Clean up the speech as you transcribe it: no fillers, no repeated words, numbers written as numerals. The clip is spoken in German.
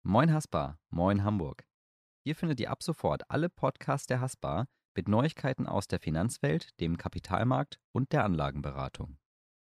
Moin Haspa, moin Hamburg. Hier findet ihr ab sofort alle Podcasts der Haspa mit Neuigkeiten aus der Finanzwelt, dem Kapitalmarkt und der Anlagenberatung.